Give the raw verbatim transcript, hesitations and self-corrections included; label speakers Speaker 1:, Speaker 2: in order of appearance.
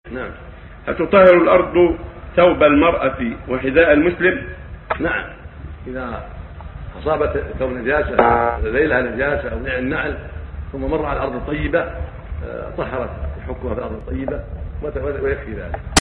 Speaker 1: نعم. هل تطهر الأرض ثوب المرأة وحذاء المسلم؟
Speaker 2: نعم، إذا أصابت ثوب نجاسة ليلها نجاسة أو نعل نعل ثم مر على الأرض الطيبة طهرت حكمها في الأرض الطيبة ويكفي ذلك.